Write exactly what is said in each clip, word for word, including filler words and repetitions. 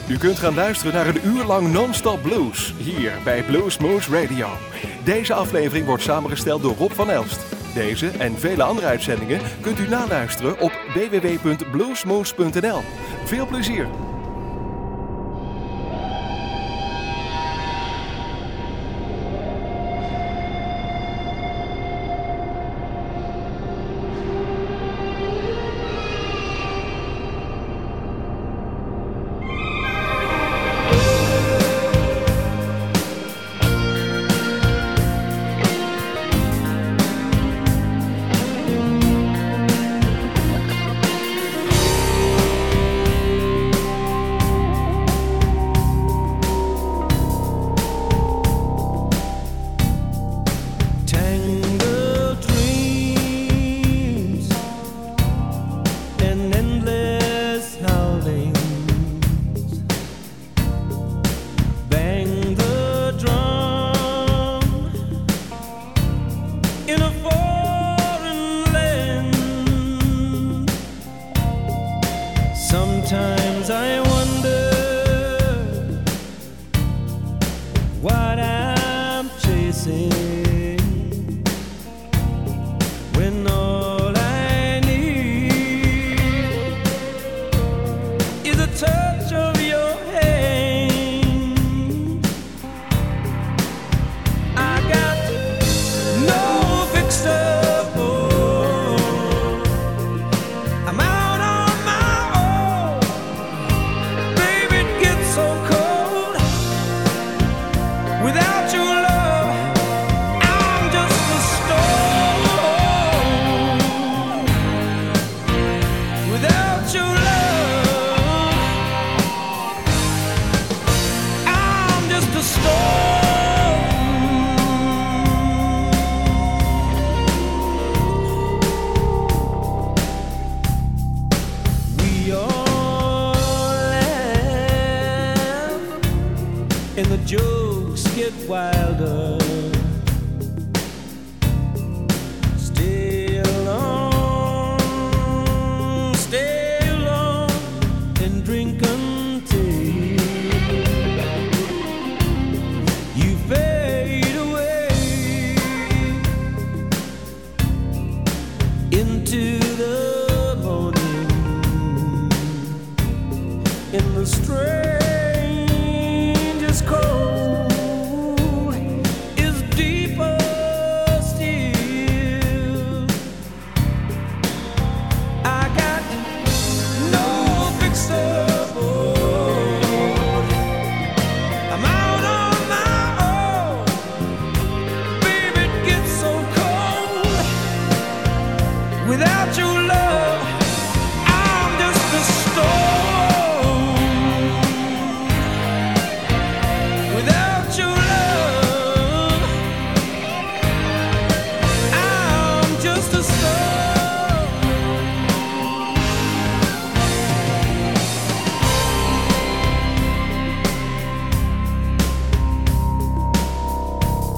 U kunt gaan luisteren naar een uur lang non-stop blues, hier bij Bluesmoose Radio. Deze aflevering wordt samengesteld door Rob van Elst. Deze en vele andere uitzendingen kunt u naluisteren op w w w punt bluesmoose punt n l. Veel plezier!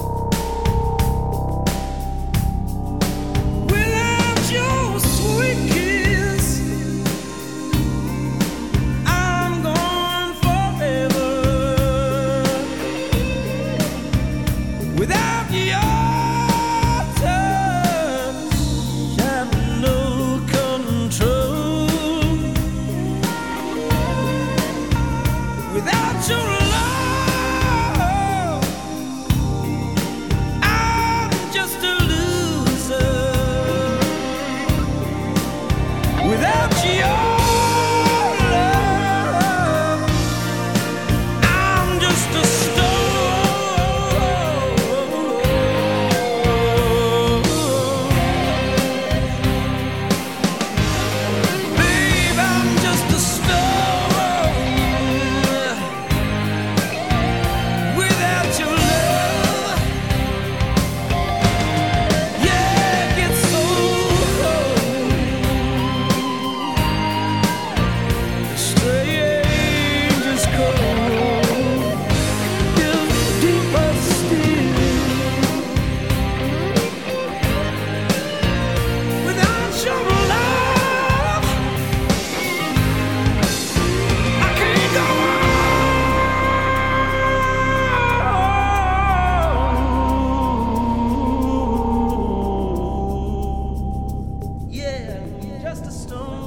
Sweet just a stone.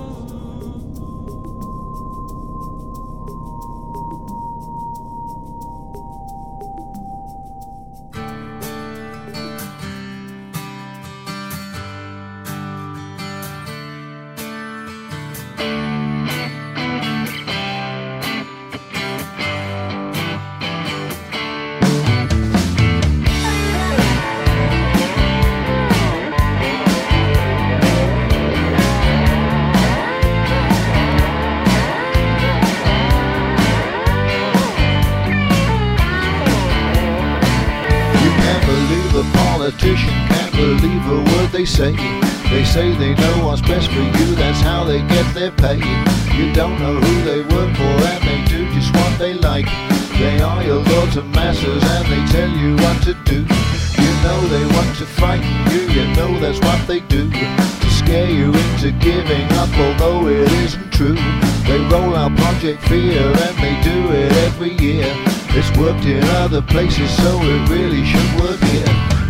Can't believe a word they say. They say they know what's best for you, that's how they get their pay. You don't know who they work for and they do just what they like. They are your lords and masters and they tell you what to do. You know they want to frighten you, you know that's what they do. To scare you into giving up although it isn't true. They roll out Project Fear and they do it every year. It's worked in other places so it really should work here.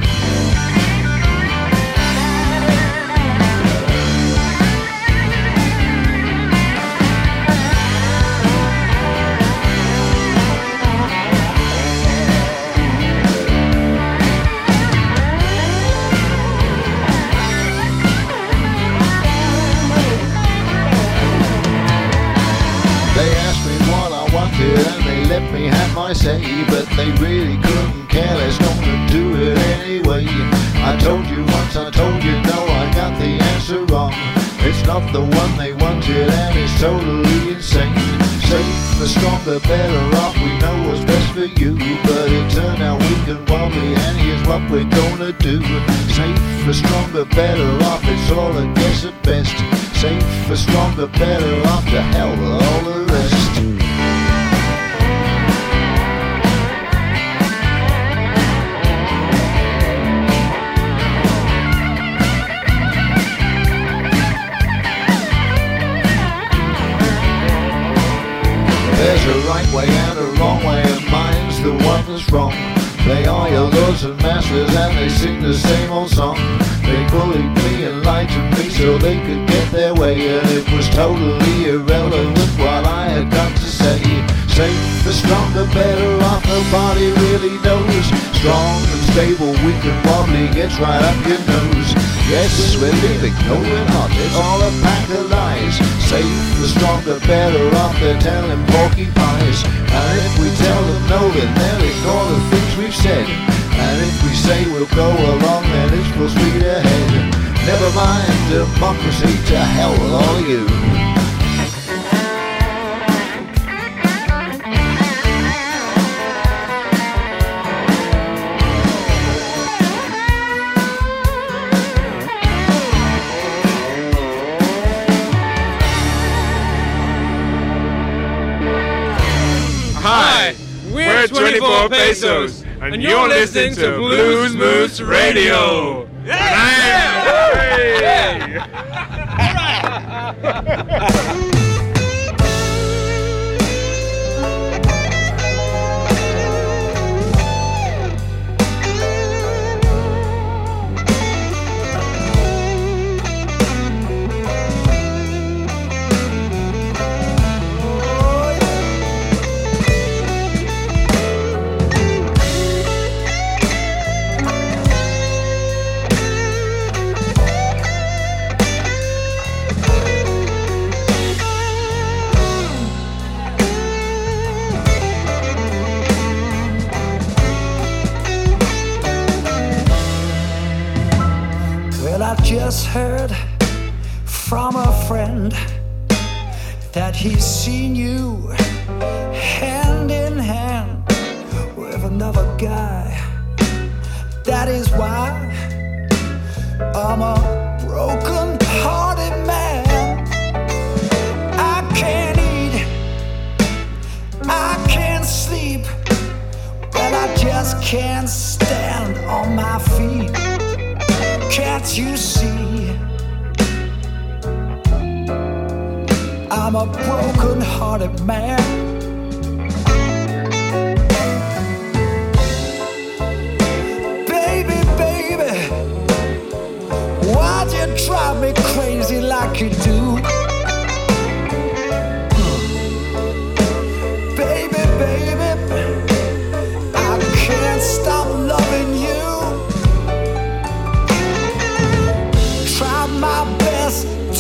And they let me have my say, but they really couldn't care less, gonna do it anyway. I told you once, I told you no, I got the answer wrong. It's not the one they wanted and it's totally insane. Safer, stronger, better off, we know what's best for you. But it turned out weak and wobbly and here's what we're gonna do. Safer, stronger, better off, it's all a guess at best. Safer, stronger, better off, to hell with all the rest. There's a right way and a wrong way, and mine's the one that's wrong. They are your lords and masters and they sing the same old song. They bullied me and lied to me so they could get their way, and it was totally irrelevant what I had got to say. Safer, stronger, better off, nobody really knows. Strong and stable, weak and wobbly, gets right up your nose. Yes, we're living, no we're not, it's all a pack of lies. Safer, stronger, better off, they're telling porcupines. And if we tell them no, then they'll ignore the things we've said. And if we say we'll go along, then it's full speed ahead. Never mind democracy, to hell with all of you. Hi, we're twenty-four Pesos, and you're listening to Blues Moose Radio. Yeah! Yeah! Just heard from a friend that he's seen you hand in hand with another guy. That is why I'm a broken-hearted man. I can't eat, I can't sleep, but I just can't stand on my feet. Can't you see? I'm a broken-hearted man. Baby, baby, why'd you drive me crazy like you do?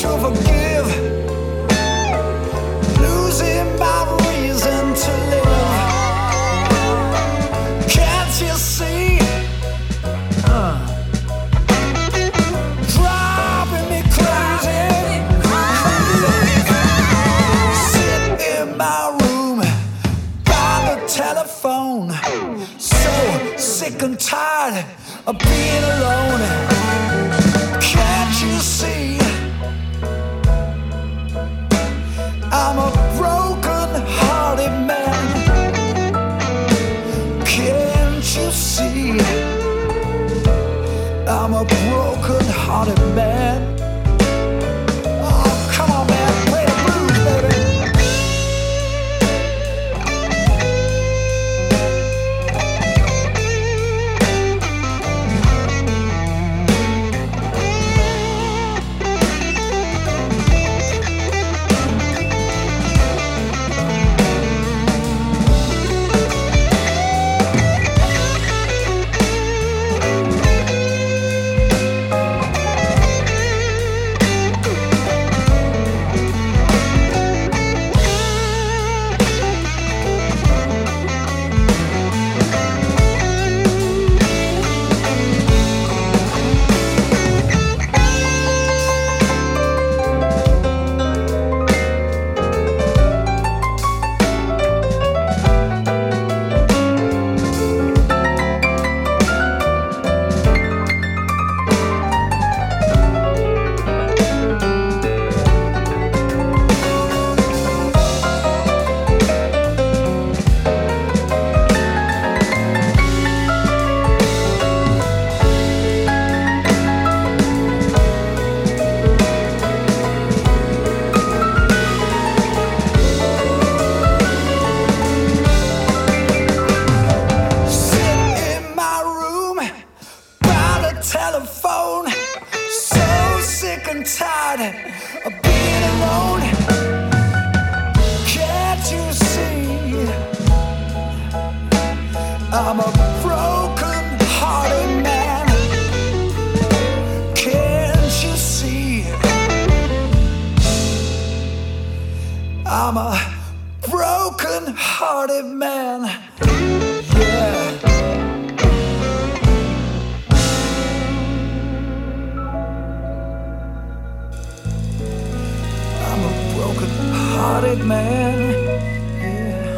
to forgive, losing my reason to live. Can't you see? Uh, driving me crazy. Sit in my room by the telephone, so sick and tired of being alone. Can't you see? I'm a broken-hearted man. Can't you see? I'm a broken-hearted man. Oh, come on, man, play the blues, baby. Telephone, so sick and tired of being alone. Can't you see? I'm a broken-hearted man. Can't you see? I'm a broken-hearted man. Yeah. Broken-hearted man, yeah.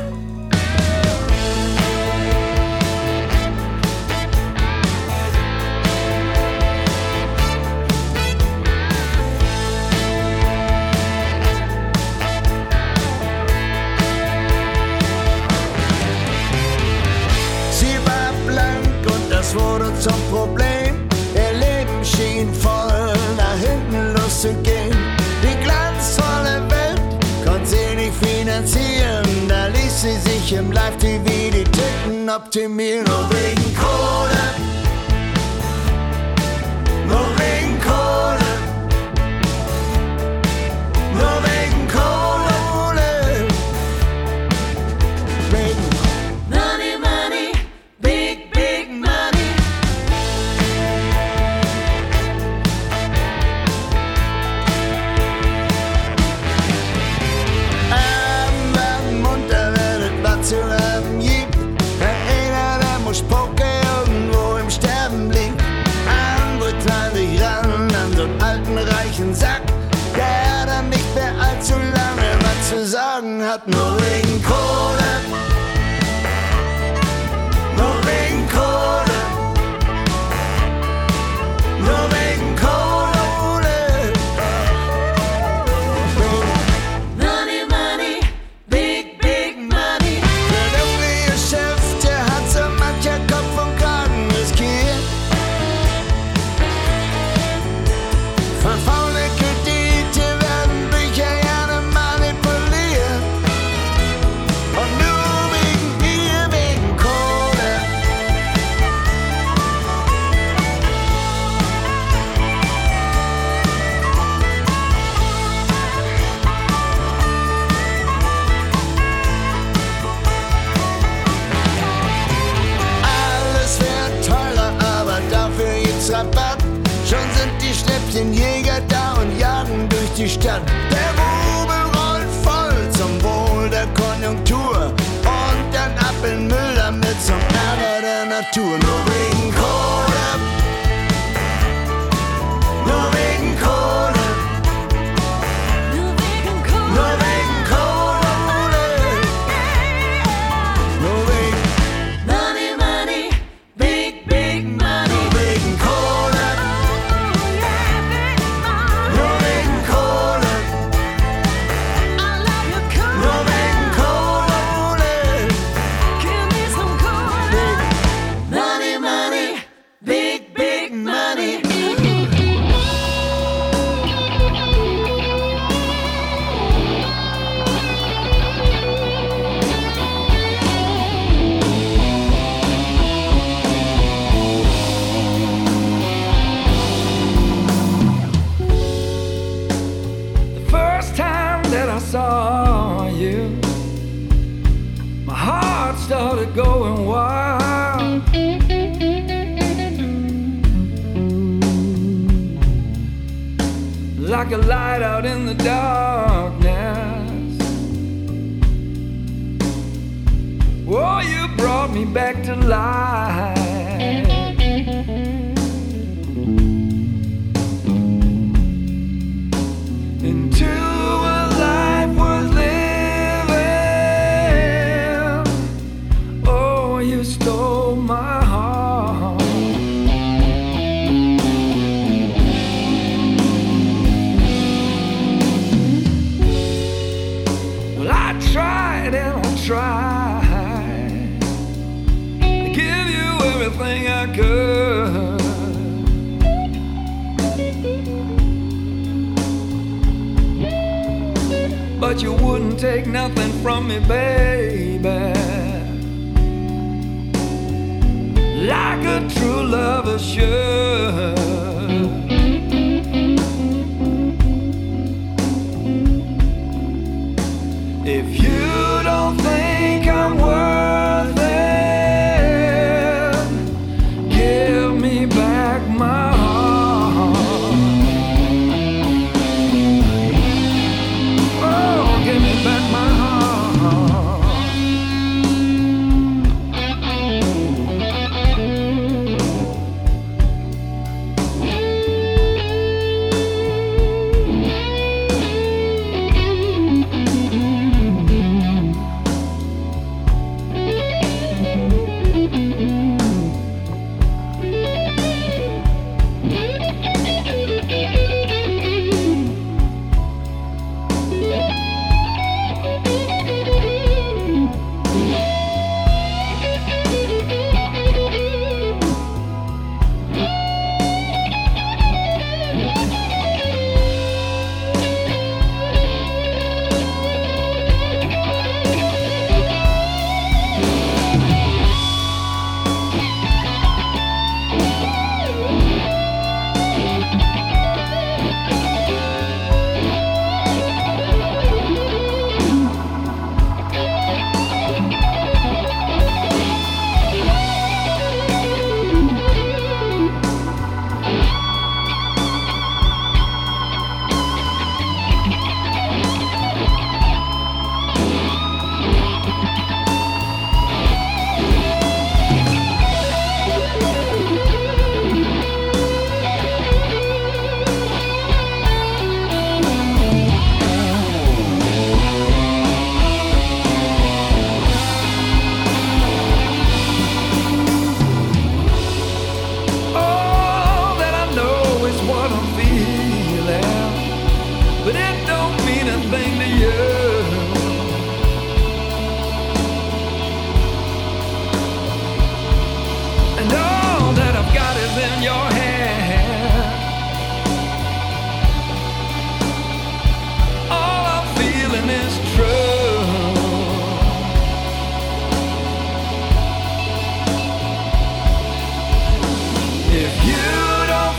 Sie war blank und das wurde zum Problem. Ihr Leben schien voll nach hinten loszugehen. Die glanzvolle Welt konnte sie nicht finanzieren. Da ließ sie sich im Live-T V die Titten optimieren. Nur wegen Kohle, nur wegen Kohle, nur wegen Kohle, wegen Money, money, big, big money. Abend werden munter, wenn es was zu haben gibt. Der eine, der muss Poker irgendwo im Sterben liegt. Andere trauen sich ran an so einen alten, reichen Sack, der dann nicht mehr allzu lange was zu sagen hat. Nur wegen Kohle, nur wegen Kohle, nur wegen Kohle. Money, money, big, big money. Der dunkle Chef, der hat so mancher Kopf und Kragen riskiert. Verfaule Kredite werden Bücher gerne manipuliert. Und durch die Stadt. Der Rubel rollt voll zum Wohl der Konjunktur. Und dann ab in Müll damit zum Ärger der Natur. Nur wegen Kohle, nur wegen Kohle, nur wegen Kohle, nur wegen Kohle, nur wegen Money, Money, big, big Money, nur wegen Kohle, nur wegen Kohle, I love you Kohle, nur wegen Kohle, give me some Kohle, Money, Money, big, big Money. The first time that I saw you, my heart started going wild. Like a light out in the darkness. Oh, you brought me back to life. Into a life worth living. Oh, you stole my heart. Well, I tried and I tried to give you everything I could. But you wouldn't take nothing from me, baby. Like a true lover should. If you don't think I'm worth it, give me back my heart. Oh, give me back my heart.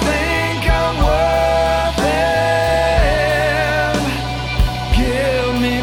Give me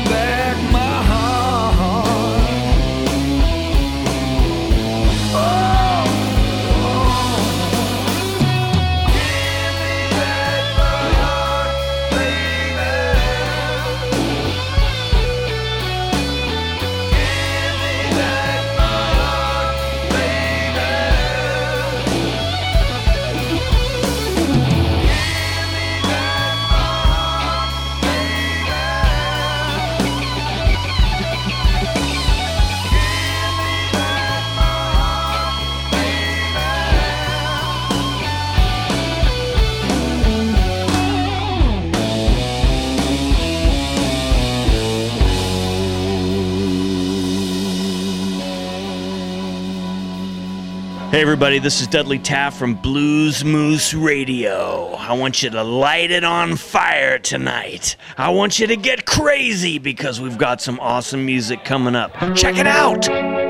Hey everybody, this is Dudley Taft from Blues Moose Radio. I want you to light it on fire tonight. I want you to get crazy because we've got some awesome music coming up. Check it out!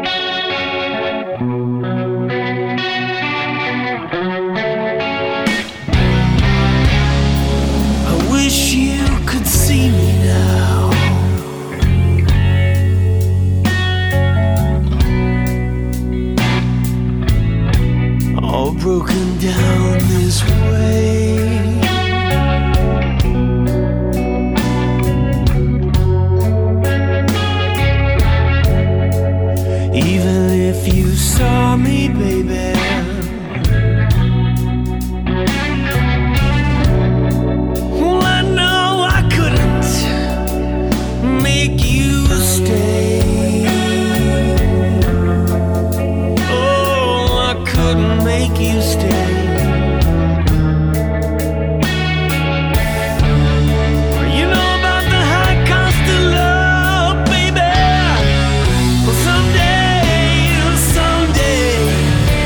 I wish you could see me now. All broken down this way. Even if you saw me, baby, well, I know I couldn't make you stay. Couldn't make you stay. You know about the high cost of love, baby. Well, someday, someday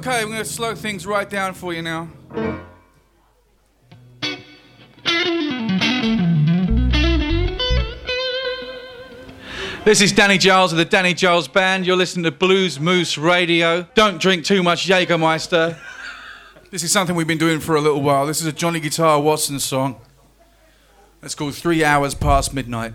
Okay, we're going to slow things right down for you now. This is Danny Giles of the Danny Giles Band. You're listening to Blues Moose Radio. Don't drink too much Jägermeister. This is something we've been doing for a little while. This is a Johnny Guitar Watson song. It's called Three Hours Past Midnight.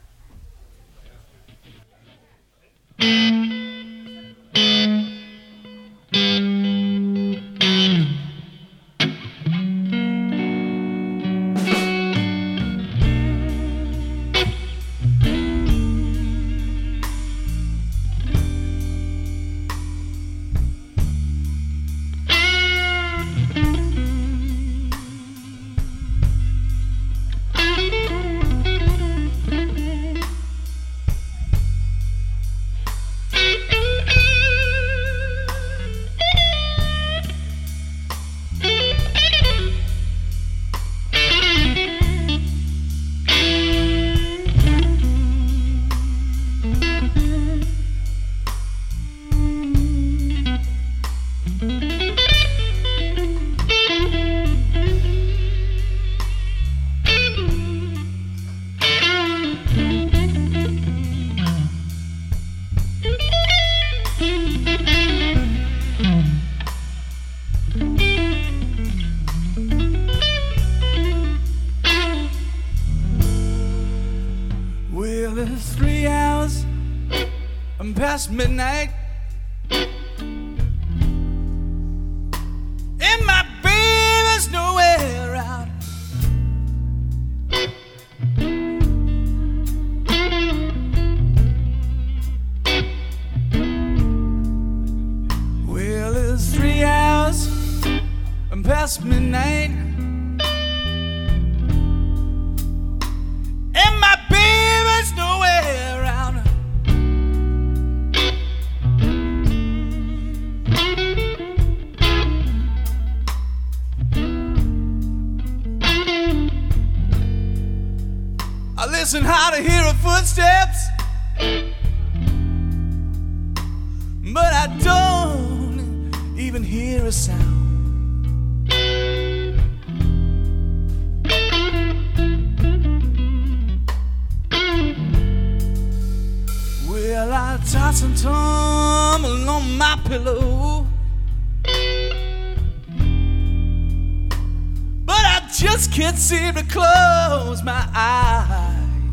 Midnight, and my baby's nowhere around. Well, it's three hours and past midnight, and my baby's nowhere around. Listen how to hear her footsteps, but I don't even hear a sound. Well, I toss and tumble on my pillow, but I just can't seem to close my eyes.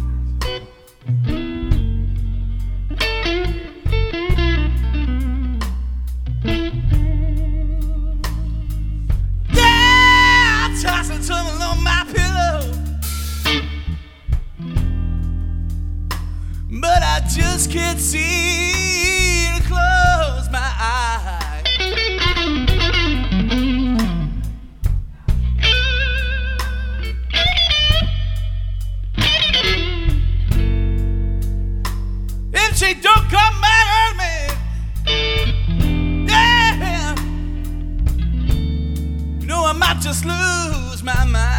But I just can't see to close my eyes. If she don't come back at me, yeah, you know I might just lose my mind.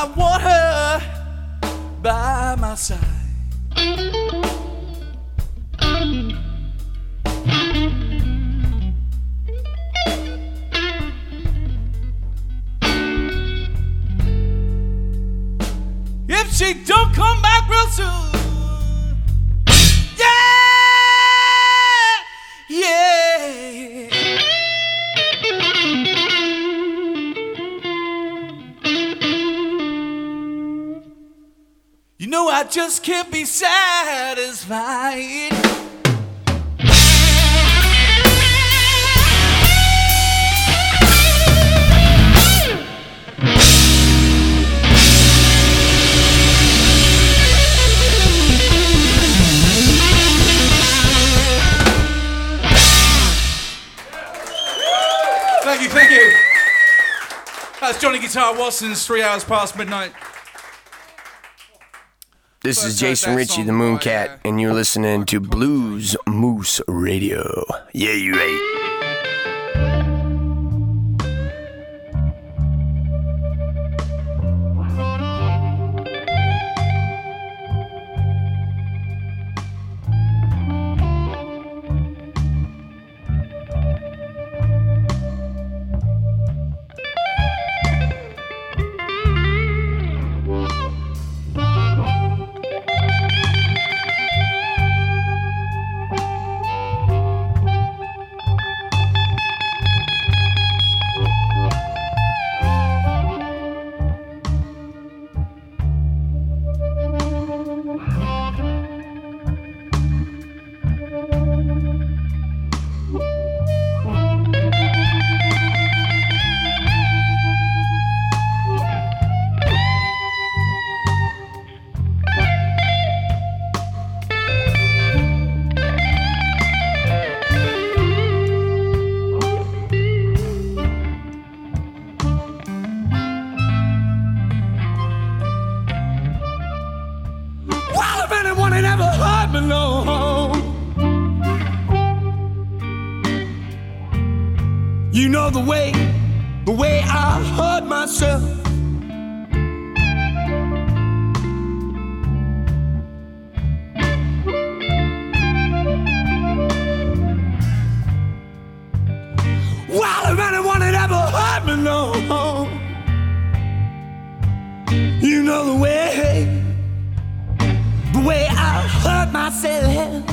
I want her by my side. If she don't come back real soon, yeah, yeah. You know I just can't be satisfied. Thank you, thank you. That's Johnny Guitar Watson's Three Hours Past Midnight. This First is Jason heard that Ritchie, song the by, Mooncat, uh, and you're listening to Blues Moose Radio. Yeah, you right. You know the way, the way I hurt myself. Well, if anyone had ever hurt me, no. You know the way, the way I hurt myself.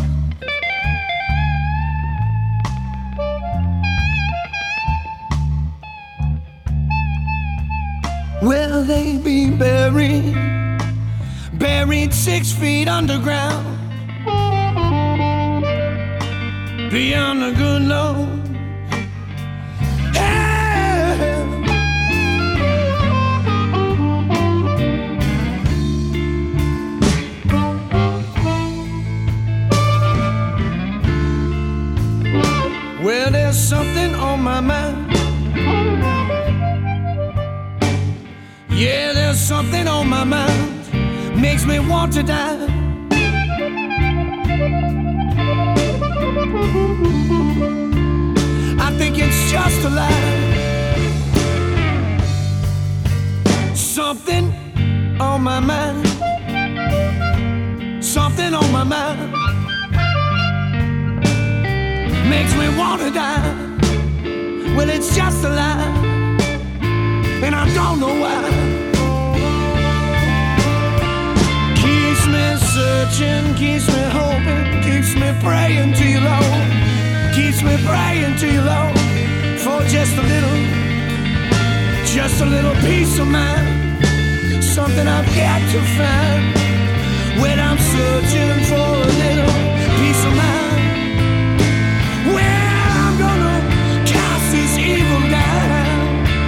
Will they be buried, buried six feet underground, beyond the good Lord? Yeah. Well, there's something on my mind. Yeah, there's something on my mind, makes me want to die. I think it's just a lie. Something on my mind, something on my mind, makes me want to die. Well, it's just a lie, and I don't know why. Keeps me searching, keeps me hoping, keeps me praying to you, Lord. Keeps me praying to you, Lord, for just a little, just a little peace of mind. Something I've got to find when I'm searching for a little peace of mind. Well, I'm gonna cast this evil down.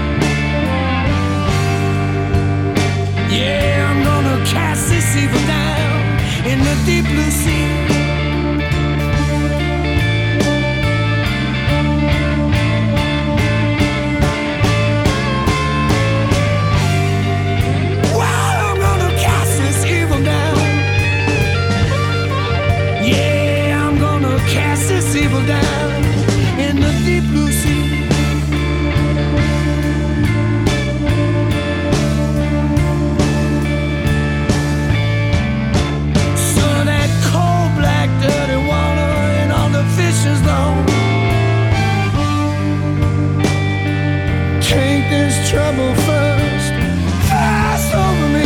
Yeah, I'm gonna cast this evil down in the deep blue sea. Well, I'm gonna cast this evil down. Yeah, I'm gonna this trouble first. Fast over me.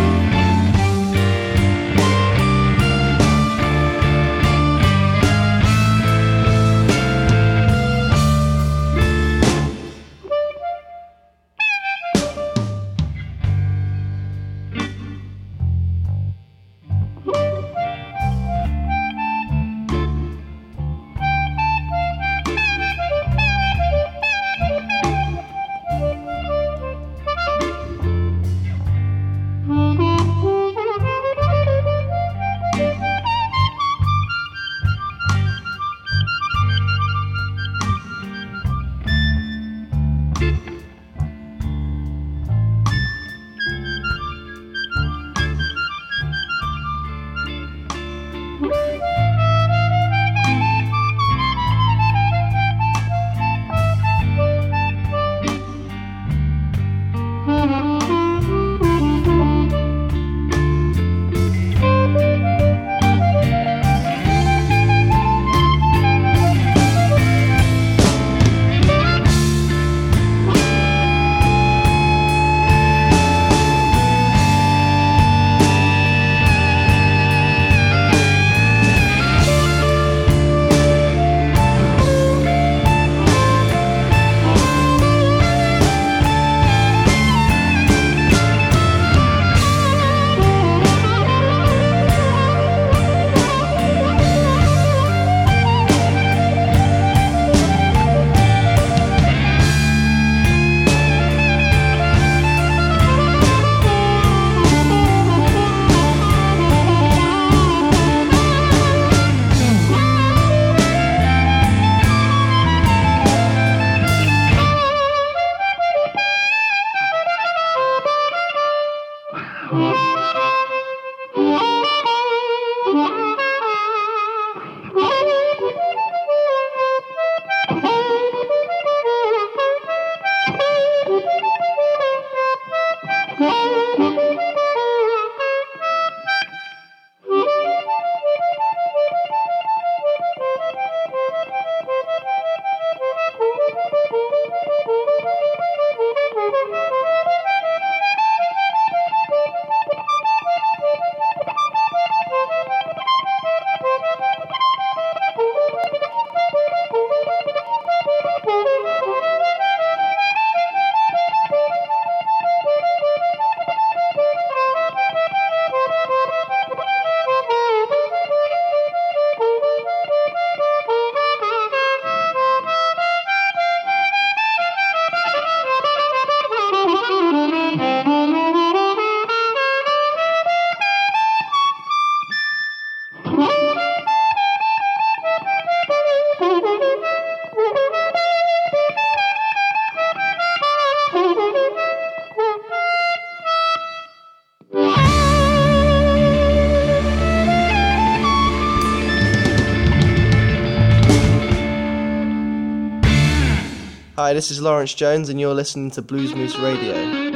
Hi, this is Lawrence Jones and you're listening to Blues Moose Radio.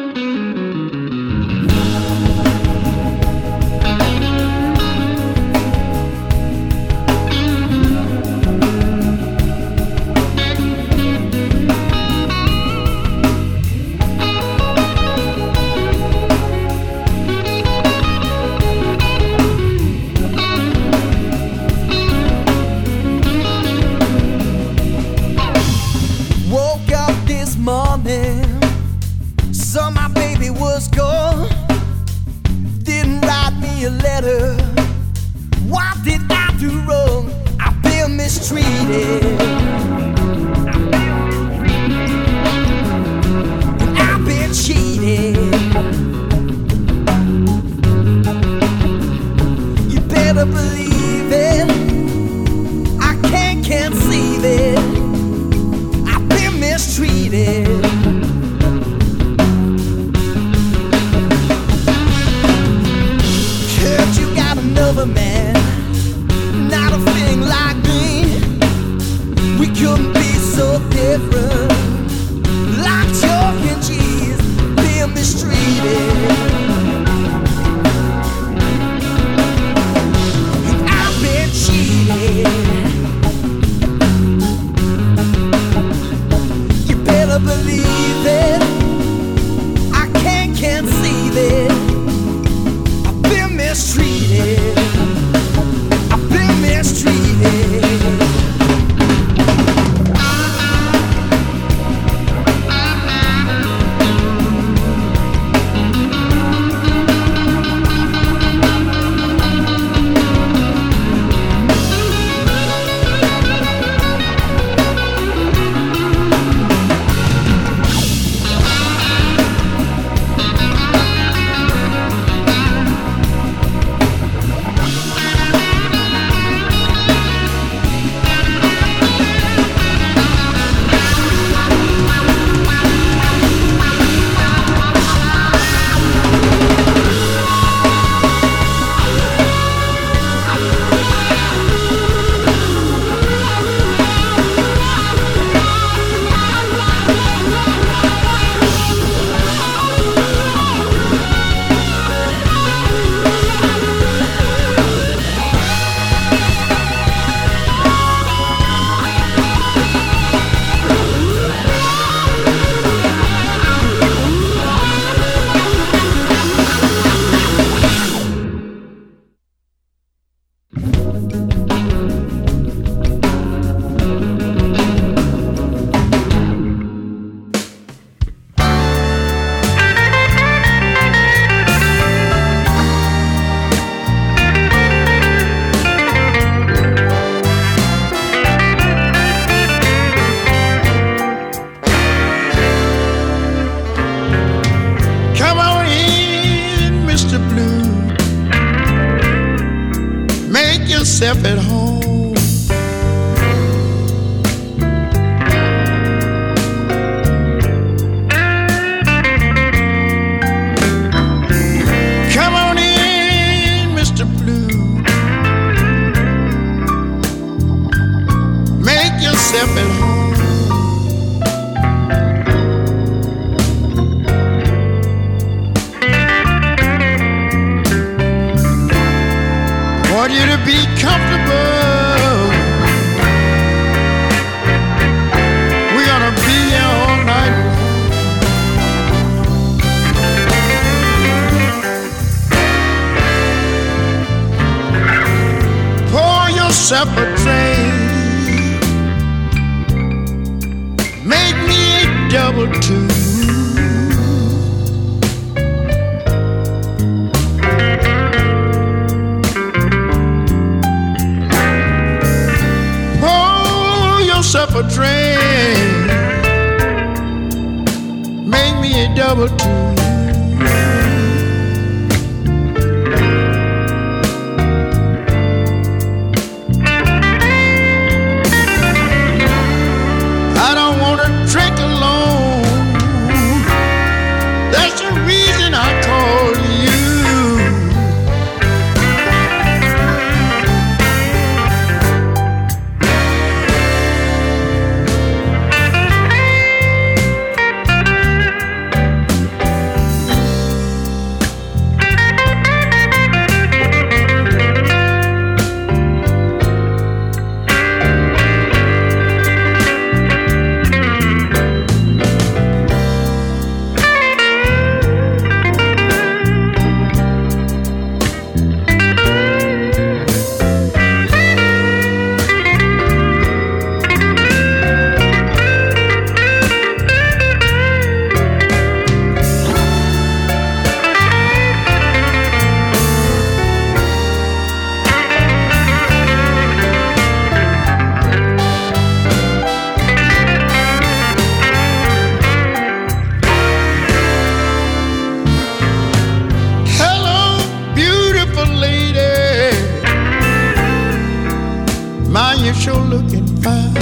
Not a thing like me. We couldn't yourself at home. Come on in, Mister Blue. Make yourself at home. Want you to be comfortable. We're gonna be here all night. Pour yourself a drink. Make me a double two. Yourself a drink. Make me a double two. I don't want to drink alone. That's the reason I called you. You're looking fine.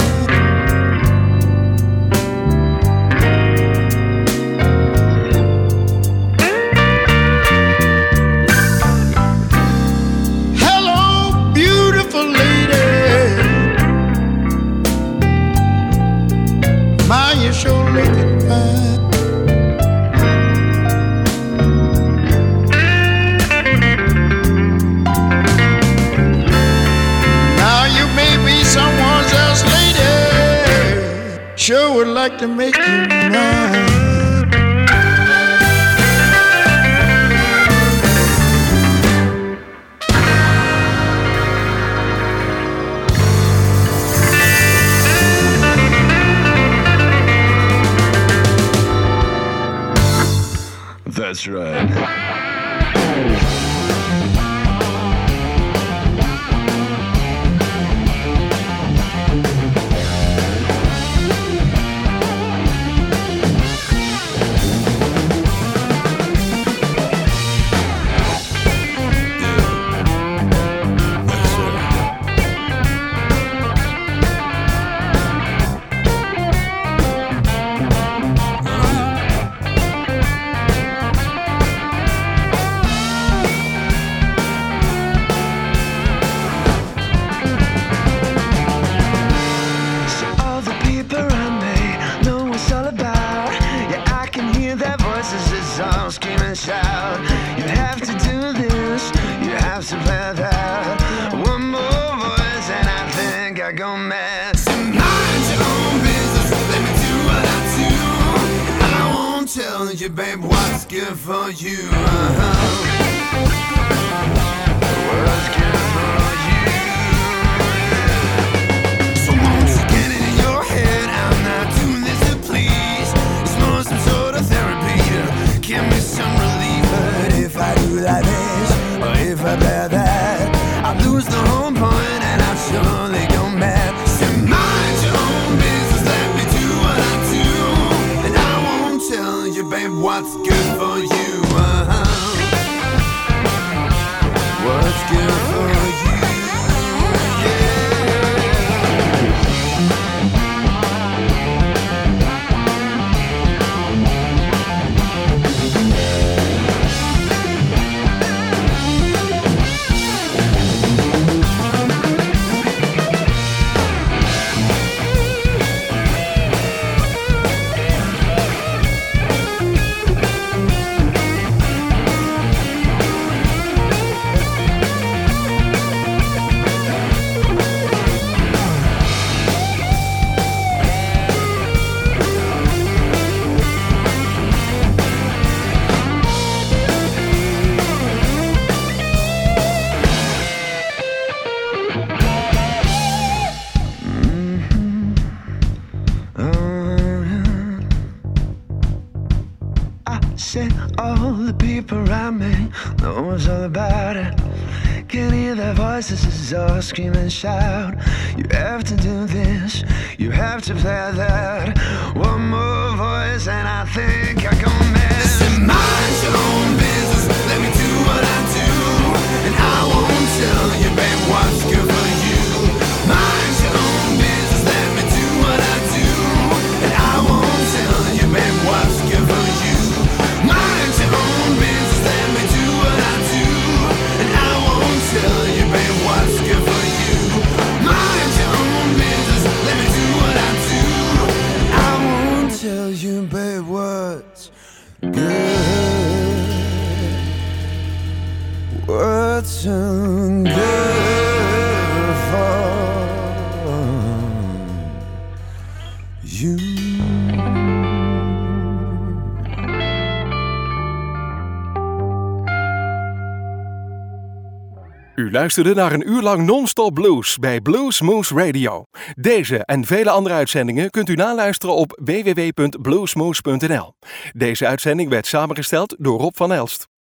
Hello, beautiful lady. My, you're sure looking fine. Someone else lady sure would like to make you mine. That's right. You, babe, what's good for you? Uh-huh. What's good for you? So won't you get it in your head? I'm not doing this to please. It's more some sort of therapy to give me some relief. But if I do like this, or if I bear that, I lose the whole point and I'll surely go mad. So mind your own business, let me do what I do, and I won't tell you, babe, what's good for you. Uh-huh. What's good for you? Say all the people around me know what's all about it. Can hear their voices as all scream and shout. You have to do this, you have to play that. One more voice and I think I go mad. Listen, mind your own business, let me do what I do. And I won't tell you, babe, what's good for you. Mind your own business, let me do what I do. And I won't tell you, babe, what's good for you. Mind your own business, let me do what I do. And I won't tell you, babe, what's good for you. Mind your own business, let me do what I do. I won't tell you, babe, what's good. What's so good for you. U luisterde naar een uur lang non-stop blues bij Blues Moose Radio. Deze en vele andere uitzendingen kunt u naluisteren op w w w punt bluesmoose punt n l. Deze uitzending werd samengesteld door Rob van Elst.